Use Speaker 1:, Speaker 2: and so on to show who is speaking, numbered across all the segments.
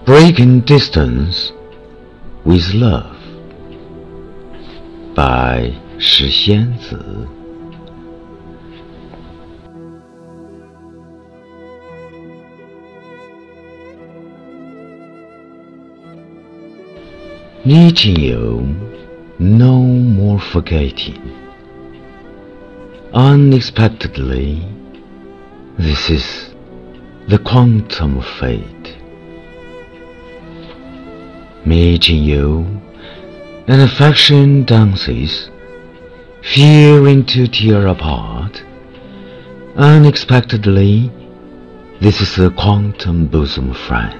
Speaker 1: Breaking Distance with Love by 石仙子。Meeting you, no more forgetting. Unexpectedly, this is the quantum of fate. Meeting you, and affection dances, fearing to tear apart. Unexpectedly, this is a quantum bosom friend.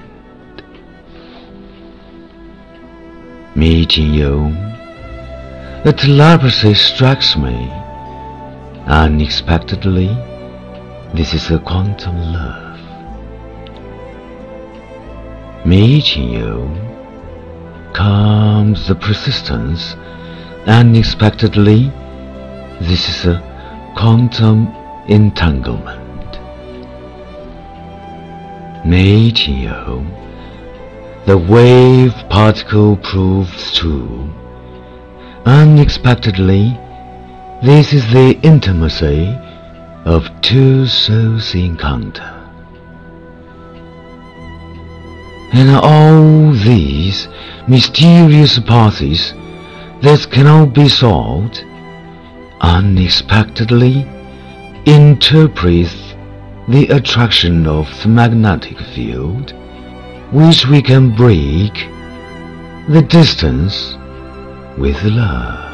Speaker 1: Meeting you, a telepathy strikes me. Unexpectedly, this is a quantum love. Meeting you, comes the persistence. Unexpectedly, this is a quantum entanglement. Meeting you, the wave particle proves true. Unexpectedly, this is the intimacy of two souls' encounter. And all these mysterious paths that cannot be solved, unexpectedly interpret the attraction of the magnetic field, which we can break the distance with love.